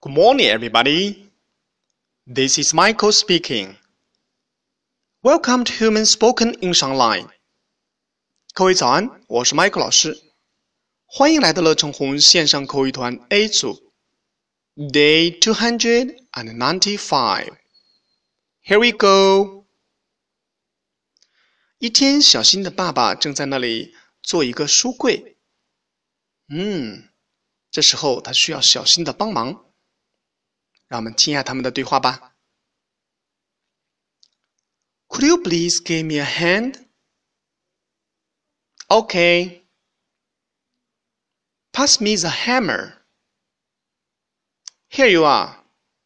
Good morning, everybody. This is Michael speaking. Welcome to Human Spoken English Online. 各位早安，我是 Michael 老师，欢迎来到乐成红线上口语团 A 组 Day 295. Here we go. 一天，小新的爸爸正在那里做一个书柜。这时候他需要小新的帮忙。让我们听一下他们的对话吧。Could you please give me a hand? Okay. Pass me the hammer. Here you are.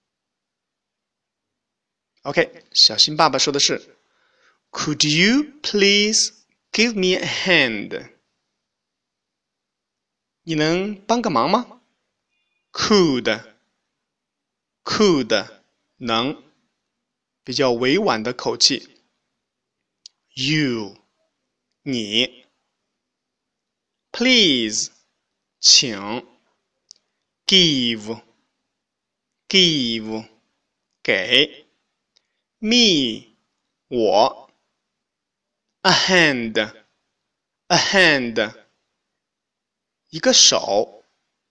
OK, 小新爸爸说的是 Could you please give me a hand? 你能帮个忙吗 ？Could 能，比较委婉的口气。You 你 Please 请 Give 给 Me 我 A hand 一个手。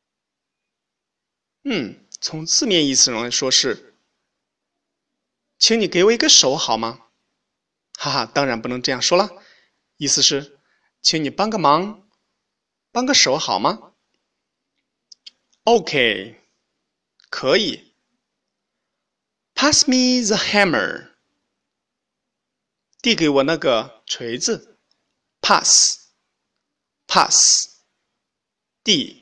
从字面意思上来说是请你给我一个手好吗？哈哈，当然不能这样说了，意思是请你帮个忙，帮个手好吗？ OK， 可以。Pass me the hammer， 递给我那个锤子。Pass 递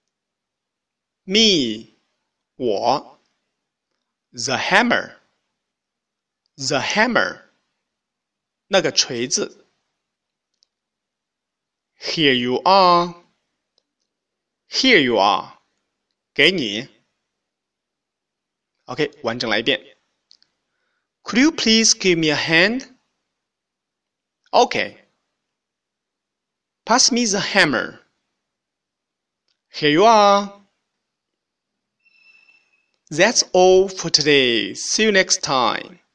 Me 我 The hammer 那个锤子。Here you are 给你。OK， 完整来一遍。Could you please give me a hand? OK. Pass me the hammer. Here you are. That's all for today. See you next time.